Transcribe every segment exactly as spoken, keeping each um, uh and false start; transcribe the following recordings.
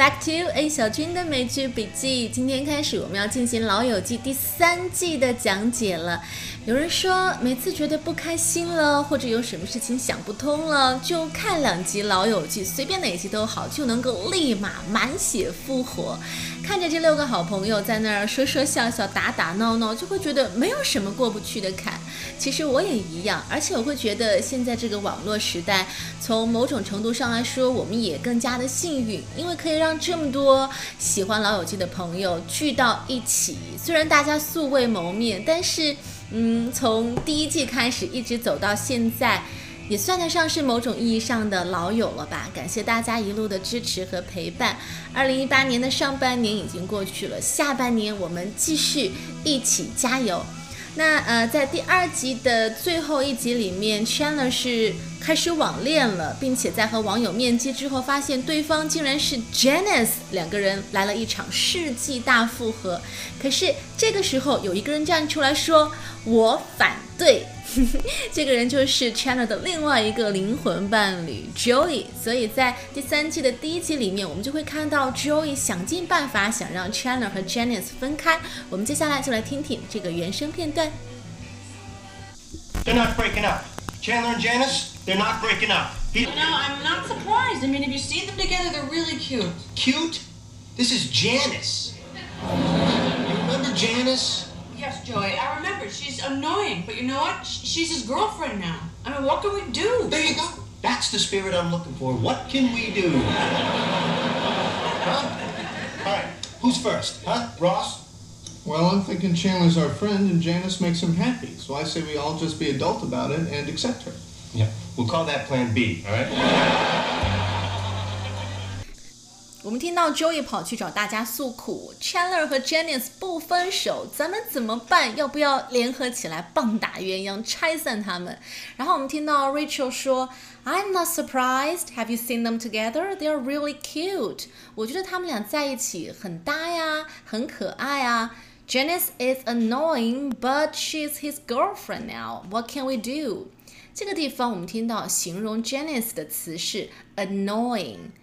back to A 小军的美剧笔记。今天开始我们要进行《老友记》第三季的讲解了。有人说每次觉得不开心了，或者有什么事情想不通了，就看两集《老友记》，随便哪集都好，就能够立马满血复活。看着这六个好朋友在那儿说说笑笑、打打闹闹，就会觉得没有什么过不去的坎。其实我也一样，而且我会觉得现在这个网络时代，从某种程度上来说，我们也更加的幸运，因为可以让这么多喜欢老友记的朋友聚到一起。虽然大家素未谋面，但是嗯，从第一季开始一直走到现在，也算得上是某种意义上的老友了吧。感谢大家一路的支持和陪伴。二零一八年的上半年已经过去了，下半年我们继续一起加油。那呃，在第二集的最后一集里面 Chandler 是开始网恋了，并且在和网友面基之后发现对方竟然是 Janice， 两个人来了一场世纪大复合。可是这个时候有一个人站出来说我反对这个人就是 Chandler 的另外一个灵魂伴侣 Joey。 所以在第三季的第一集里面，我们就会看到 Joey 想尽办法想让 Chandler 和 Janice 分开。我们接下来就来听听这个原声片段。 They're not breaking up. Chandler and Janice, they're not breaking up. He... You know, I'm not surprised. I mean, if you see them together, they're really cute. Cute? This is Janice. You remember Janice? Yes, Joey, I remember. She's annoying, but you know what? She's his girlfriend now. I mean, what can we do? There you go. That's the spirit I'm looking for. What can we do? Huh? All right, who's first? Huh? Ross? Well, I'm thinking Chandler's our friend and Janice makes him happy. So I say we all just be adult about it and accept her. Yeah, we'll call that plan B, all right? 我们听到 Joey 跑去找大家诉苦 Chandler 和 Janice 不分手，咱们怎么办？要不要联合起来棒打鸳鸯拆散他们？然后我们听到 Rachel 说 I'm not surprised. Have you seen them together? They're really cute. 我觉得他们俩在一起很搭呀，很可爱啊。Janice is annoying, but she's his girlfriend now. What can we do? 这个地方我们听到形容 Janice 的词是 annoying,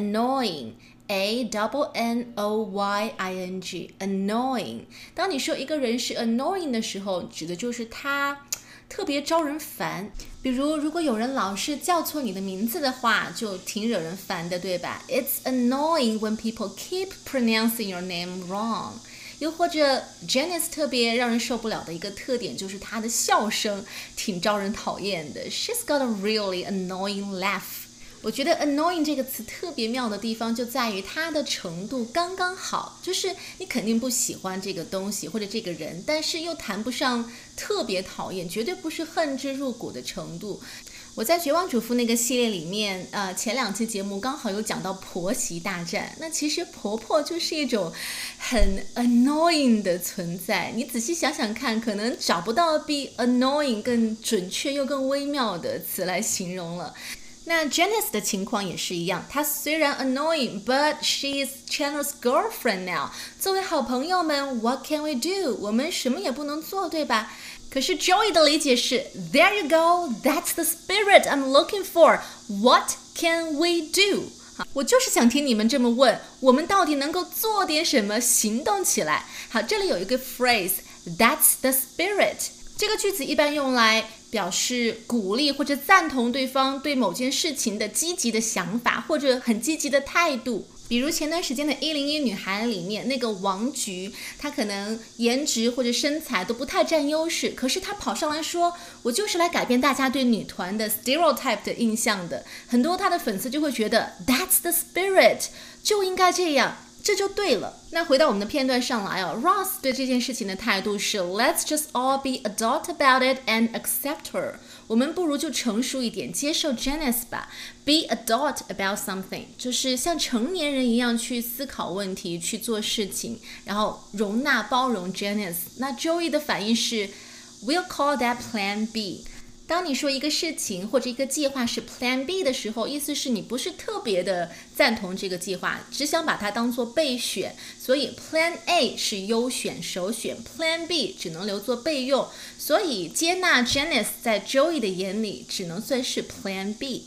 annoying.A double N O Y I N G annoying。 当你说一个人是 annoying 的时候，指的就是他特别招人烦。比如如果有人老是叫错你的名字的话，就挺惹人烦的，对吧？ It's annoying when people keep pronouncing your name wrong。 又或者 Janice 特别让人受不了的一个特点就是她的笑声挺招人讨厌的。 She's got a really annoying laugh。我觉得 annoying 这个词特别妙的地方就在于它的程度刚刚好，就是你肯定不喜欢这个东西或者这个人，但是又谈不上特别讨厌，绝对不是恨之入骨的程度。我在绝望主妇那个系列里面呃，前两期节目刚好有讲到婆媳大战，那其实婆婆就是一种很 annoying 的存在。你仔细想想看，可能找不到比 annoying 更准确又更微妙的词来形容了。那 Janice 的情况也是一样，她虽然 annoying, but she is Chandler's girlfriend now。 作为好朋友们 what can we do？ 我们什么也不能做，对吧？可是 Joey 的理解是 There you go, that's the spirit I'm looking for. What can we do？ 我就是想听你们这么问，我们到底能够做点什么，行动起来。好，这里有一个 phrase That's the spirit。 这个句子一般用来表示鼓励或者赞同对方对某件事情的积极的想法或者很积极的态度。比如前段时间的一零一女孩里面那个王菊，她可能颜值或者身材都不太占优势，可是她跑上来说我就是来改变大家对女团的 stereotype 的印象的。很多她的粉丝就会觉得 That's the spirit， 就应该这样，这就对了。那回到我们的片段上来哦 Ross 对这件事情的态度是 Let's just all be adult about it and accept her。 我们不如就成熟一点，接受 Janice 吧。 Be adult about something 就是像成年人一样去思考问题，去做事情，然后容纳包容 Janice。 那 Joey 的反应是 We'll call that plan B。当你说一个事情或者一个计划是 Plan B 的时候，意思是你不是特别的赞同这个计划，只想把它当作备选，所以 Plan A 是优选首选， Plan B 只能留作备用，所以接纳 Janice 在 Joey 的眼里只能算是 Plan B。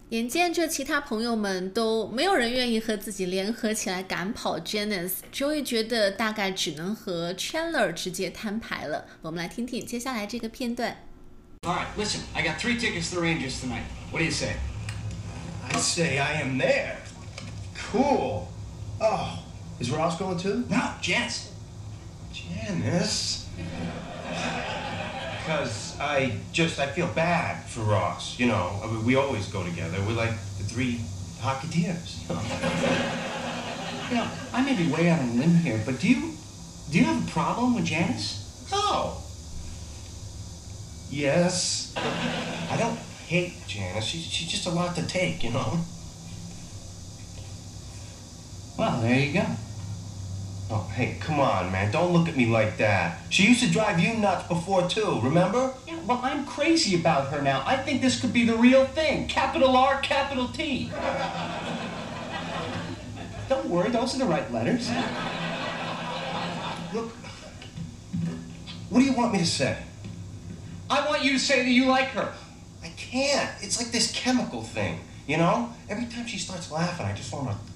眼见着其他朋友们都没有人愿意和自己联合起来赶跑 Janice，Joey 觉得大概只能和 Chandler 直接摊牌了。我们来听听接下来这个片段。 All right, listen, I got three tickets to the Rangers tonight. What do you say? I say I am there. Cool. Oh, is Ross going too? No, Janice. Janice? Because I just, I feel bad for Ross, you know. I mean, we always go together. We're like the three Hocketeers. You know, I may be way out on a limb here, but do you, do you have a problem with Janice? Oh. Yes. I don't hate Janice. She's, she's just a lot to take, you know. Well, there you go. Oh, hey, come on, man. Don't look at me like that. She used to drive you nuts before, too, remember? Yeah, well, I'm crazy about her now. I think this could be the real thing. Capital R, capital T. Don't worry, those are the right letters. Look, what do you want me to say? I want you to say that you like her. I can't. It's like this chemical thing, you know? Every time she starts laughing, I just want to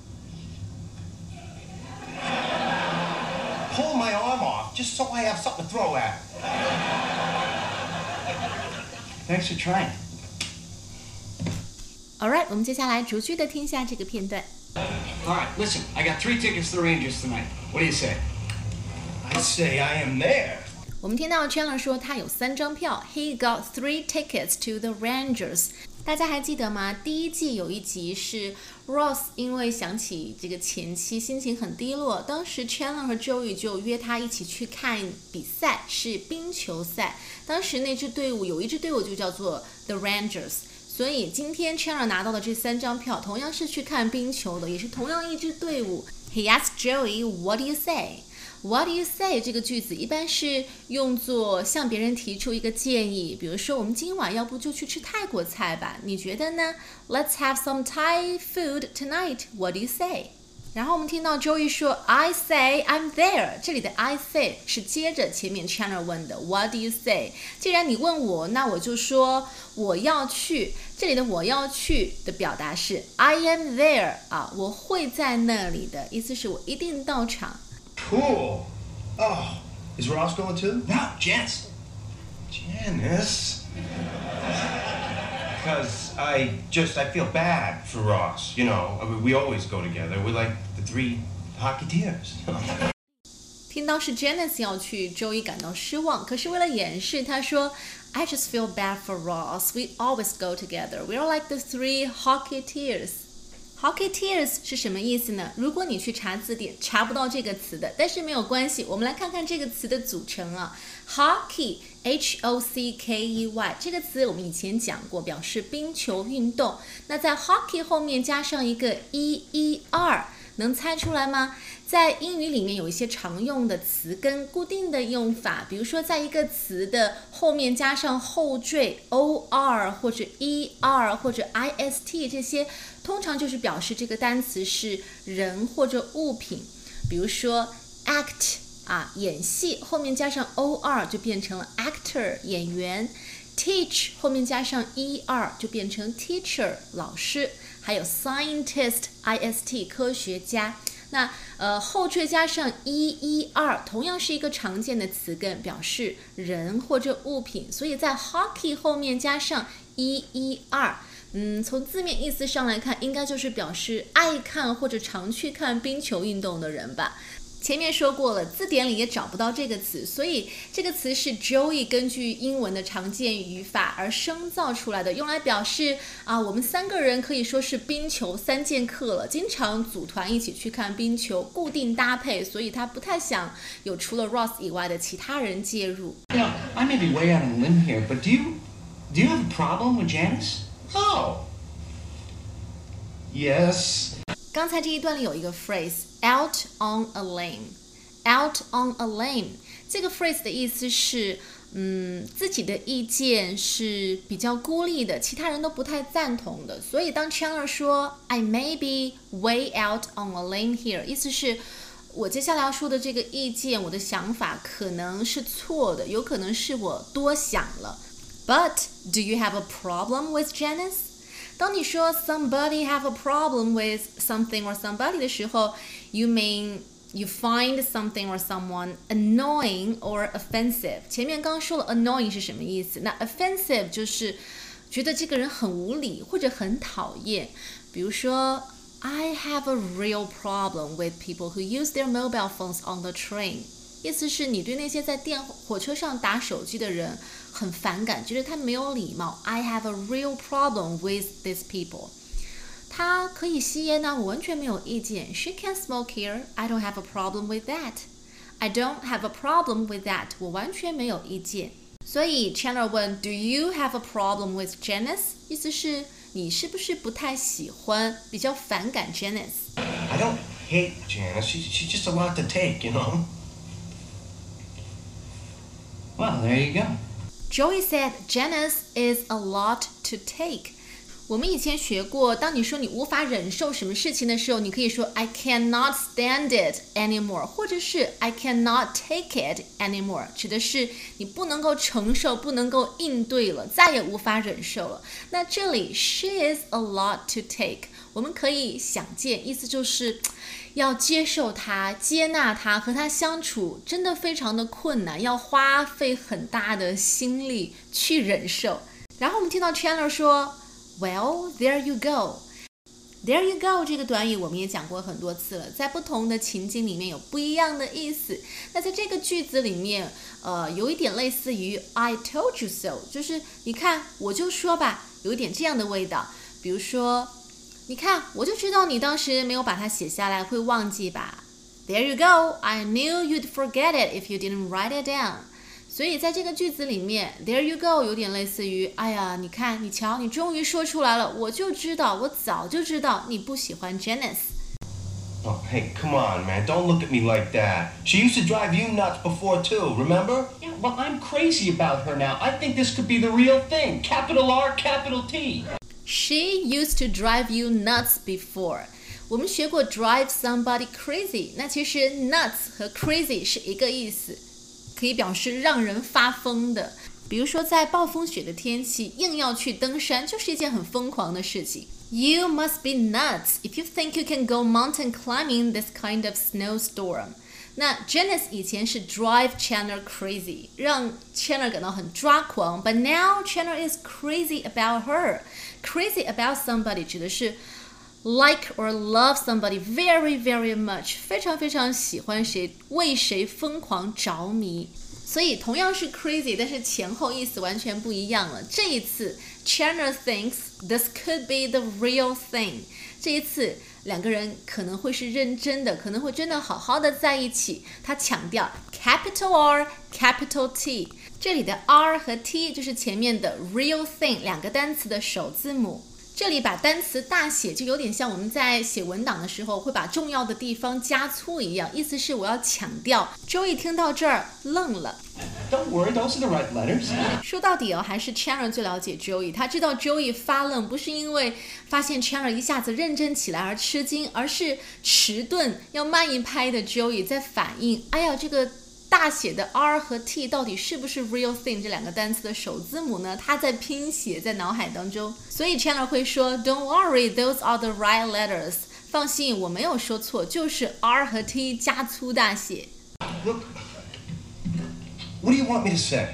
pull my arm off just so I have something to throw at her. Thanks for trying. Alright， 我们接下来逐句的听一下这个片段。 All right, listen, I got three tickets to the Rangers tonight. What do you say? I say I am there. 我们听到 Chandler 说他有三张票 ，He got three tickets to the Rangers。大家还记得吗？第一季有一集是 Ross 因为想起这个前妻，心情很低落。当时 Chandler 和 Joey 就约他一起去看比赛，是冰球赛。当时那支队伍有一支队伍就叫做 The Rangers。所以今天 Chandler 拿到的这三张票，同样是去看冰球的，也是同样一支队伍。He asked Joey, "What do you say?" What do you say 这个句子一般是用作向别人提出一个建议，比如说我们今晚要不就去吃泰国菜吧，你觉得呢？ Let's have some Thai food tonight. What do you say? 然后我们听到 Joey 说 I say I'm there， 这里的 I say 是接着前面 Chandler 问的 What do you say？ 既然你问我，那我就说我要去。这里的我要去的表达是 I am there 啊，我会在那里的，意思是我一定到场。 Cool. Oh, is Ross going too? No, Janice. Janice? Because I just, I feel bad for Ross, you know. I mean, we always go together. We're like the three Hocketeers. 听到是 Janice 要去 Joey 感到失望，可是为了掩饰他说 I just feel bad for Ross. We always go together. We're like the three Hocketeers.Hocketeers 是什么意思呢？如果你去查字典查不到这个词的，但是没有关系，我们来看看这个词的组成啊。Hockey H O C K E Y 这个词我们以前讲过，表示冰球运动。那在 hockey 后面加上一个 E E R， 能猜出来吗？在英语里面有一些常用的词根固定的用法，比如说在一个词的后面加上后缀 O R 或者 E R 或者 I S T 这些，通常就是表示这个单词是人或者物品。比如说 act 啊，演戏后面加上 O R 就变成了 actor 演员。teach 后面加上 E R 就变成 teacher 老师。还有 scientist I S T 科学家。那呃后缀加上 E E R 同样是一个常见的词根，表示人或者物品，所以在 hockey 后面加上 E E R， 嗯，从字面意思上来看，应该就是表示爱看或者常去看冰球运动的人吧。前面说过了，字典里也找不到这个词，所以这个词是 Joey 根据英文的常见语法而生造出来的，用来表示啊，我们三个人可以说是冰球三剑客了，经常组团一起去看冰球，固定搭配，所以他不太想有除了 Ross 以外的其他人介入。 You know, I may be way out on a limb here, but do you, do you have a problem with Janice? Oh. Yes. 刚才这一段里有一个 phrase out on a limb out on a limb 这个 phrase 的意思是嗯，自己的意见是比较孤立的，其他人都不太赞同的，所以当 Chandler 说 I may be way out on a limb here 意思是我接下来要说的这个意见，我的想法可能是错的，有可能是我多想了。 But do you have a problem with Janice? 当你说 somebody have a problem with something or somebody 的时候 you mean you find something or someone annoying or offensive。 前面刚说了 annoying 是什么意思，那 offensive 就是觉得这个人很无理或者很讨厌。比如说 I have a real problem with people who use their mobile phones on the train， 意思是你对那些在电火车上打手机的人很反感，觉得他没有礼貌。 I have a real problem with these people。 他可以吸烟呢，我完全没有意见。 She can smoke here, I don't have a problem with that. I don't have a problem with that， 我完全没有意见。所以 Chandler 问 Do you have a problem with Janice？ 意思是你是不是不太喜欢，比较反感 Janice？ I don't hate Janice. She, she's just a lot to take, you know? Well, there you go. Joey said Janice is a lot to take。 我们以前学过，当你说你无法忍受什么事情的时候，你可以说 I cannot stand it anymore， 或者是 I cannot take it anymore， 指的是你不能够承受，不能够应对了，再也无法忍受了。那这里 she is a lot to take， 我们可以想见，意思就是要接受他，接纳他，和他相处真的非常的困难，要花费很大的心力去忍受。然后我们听到 Chandler 说Well, there you go. There you go 这个短语我们也讲过很多次了，在不同的情景里面有不一样的意思。那在这个句子里面，呃，有一点类似于 I told you so， 就是你看，我就说吧，有一点这样的味道。比如说，你看，我就知道你当时没有把它写下来，会忘记吧。There you go. I knew you'd forget it if you didn't write it down. 所以在这个句子里面 There you go 有点类似于哎呀你看你瞧你终于说出来了，我就知道我早就知道你不喜欢 Janice。 Oh, hey, come on, man. Don't look at me like that. She used to drive you nuts before, too, remember? Yeah, well, I'm crazy about her now. I think this could be the real thing. Capital R, capital T. She used to drive you nuts before。 我们学过 drive somebody crazy， 那其实 nuts 和 crazy 是一个意思，可以表示让人发疯的。比如说在暴风雪的天气硬要去登山，就是一件很疯狂的事情。 You must be nuts if you think you can go mountain climbing this kind of snowstorm。 那 Janice 以前是 drive Chandler crazy， 让 Chandler 感到很抓狂， but now Chandler is crazy about her。 Crazy about somebody 指的是like or love somebody very very much， 非常非常喜欢谁，为谁疯狂着迷。所以同样是 crazy， 但是前后意思完全不一样了。这一次 Chandler thinks this could be the real thing， 这一次两个人可能会是认真的，可能会真的好好的在一起。他强调 capital R capital T， 这里的 R 和 T 就是前面的 real thing 两个单词的首字母。这里把单词大写，就有点像我们在写文档的时候会把重要的地方加粗一样，意思是我要强调。Joey 听到这儿愣了。 Don't worry, those are the right letters. 说到底哦，还是 Chandler 最了解 Joey， 他知道 Joey 发愣不是因为发现 Chandler 一下子认真起来而吃惊，而是迟钝要慢一拍的 Joey 在反应，哎呀，这个大写的 R 和 T 到底是不是 real thing 这两个单词的首字母呢？他在拼写在脑海当中，所以 Chandler 会说 Don't worry, those are the right letters。 放心，我没有说错，就是 R 和 T 加粗大写。 Look, what do you want me to say?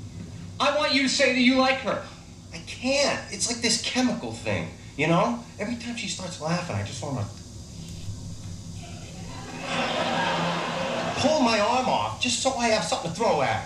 I want you to say that you like her. I can't. It's like this chemical thing, you know? Every time she starts laughing, I just want to pull my arm off just so I have something to throw at.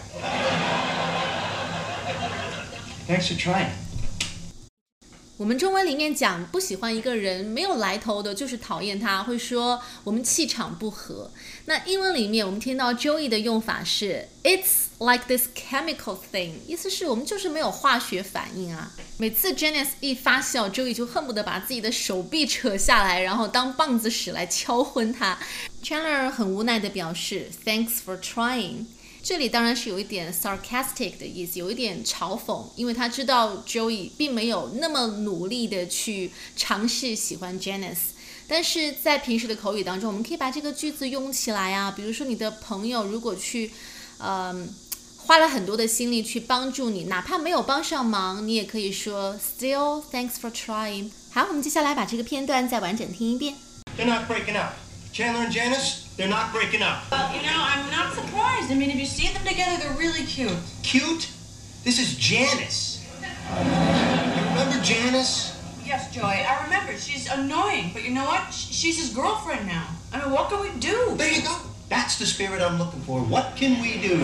Thanks for trying. 我们中文里面讲不喜欢一个人没有来头的，就是讨厌他，会说我们气场不合。那英文里面我们听到 Joey 的用法是 It's like this chemical thing， 意思是我们就是没有化学反应啊。每次 Janice 一发笑 Joey 就恨不得把自己的手臂扯下来，然后当棒子使来敲昏他。 Chandler 很无奈的表示 Thanks for trying，这里当然是有一点 sarcastic 的意思，有一点嘲讽，因为他知道 Joey 并没有那么努力的去尝试喜欢 Janice。 但是在平时的口语当中，我们可以把这个句子用起来啊，比如说你的朋友如果去呃花了很多的心力去帮助你，哪怕没有帮上忙，你也可以说 Still, thanks for trying。好，我们接下来把这个片段再完整听一遍。 They're not breaking up. Chandler and Janice, they're not breaking up. Well, you know, I'm not surprised. I mean, if you see them together, they're really cute. Cute? This is Janice. You remember Janice? Yes, Joy, I remember. She's annoying, but you know what? Sh- She's his girlfriend now. I mean, what can we do? There you go. That's the spirit I'm looking for. What can we do?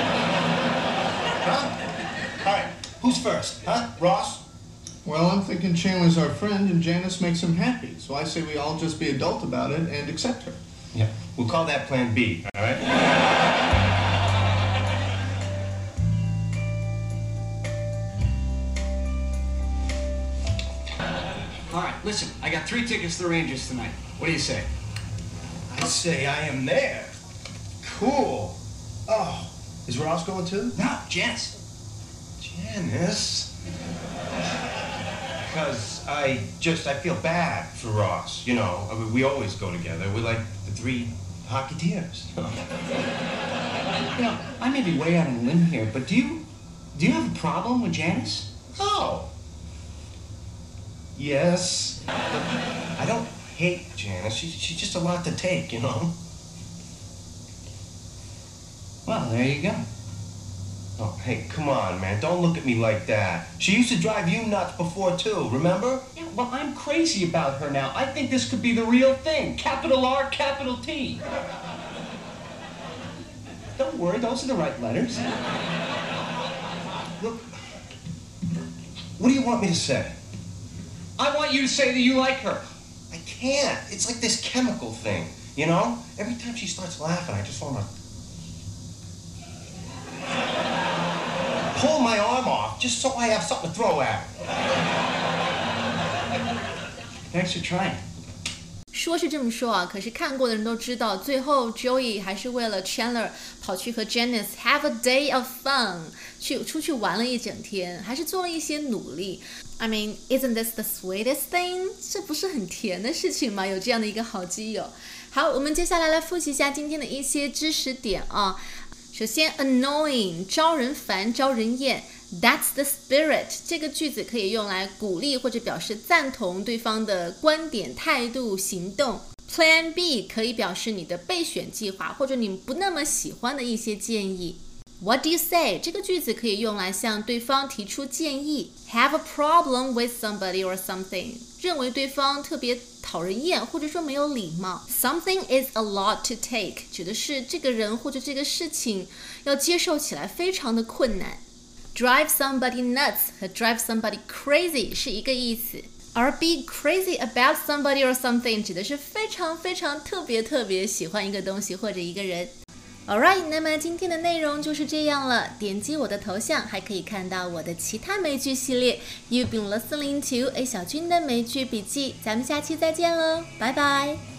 Huh? All right, who's first? Huh? Ross? Well, I'm thinking Chandler's our friend and Janice makes him happy, so I say we all just be adult about it and accept her. Yeah. We'll call that Plan B, all right? All right, listen, I got three tickets to the Rangers tonight. What do you say? I say I am there. Cool. Oh, is Ross going too? No, Janice. Janice? Because I just, I feel bad for Ross. You know, I mean, we always go together. We're like the three Hocketeers. You know, I may be way out on a limb here, but do you, do you have a problem with Janice? Oh. Yes. But I don't hate Janice. She, she's just a lot to take, you know? Well, there you go. Oh, hey, come on, man. Don't look at me like that. She used to drive you nuts before, too, remember? Yeah, well, I'm crazy about her now. I think this could be the real thing. Capital R, capital T. Don't worry, those are the right letters. Look, what do you want me to say? I want you to say that you like her. I can't. It's like this chemical thing, you know? Every time she starts laughing, I just want to pull my arm off just so I have something to throw at her. Thanks for trying. 说是这么说啊，可是看过的人都知道，最后 Joey 还是为了 Chandler 跑去和 Janice have a day of fun， 去出去玩了一整天，还是做了一些努力。I mean, isn't this the sweetest thing？ 这不是很甜的事情吗？有这样的一个好基友。好，我们接下来来复习一下今天的一些知识点啊。首先 annoying 招人烦招人厌， That's the spirit 这个句子可以用来鼓励或者表示赞同对方的观点态度行动。 Plan B 可以表示你的备选计划或者你不那么喜欢的一些建议。 What do you say 这个句子可以用来向对方提出建议。 Have a problem with somebody or something 认为对方特别讨人厌或者说没有礼貌。 Something is a lot to take 指的是这个人或者这个事情要接受起来非常的困难。 Drive somebody nuts 和 drive somebody crazy 是一个意思，而 be crazy about somebody or something 指的是非常非常特别特别喜欢一个东西或者一个人。Alright， 那么今天的内容就是这样了。点击我的头像，还可以看到我的其他美剧系列。You've been listening to A 小军的美剧笔记，咱们下期再见喽，拜拜。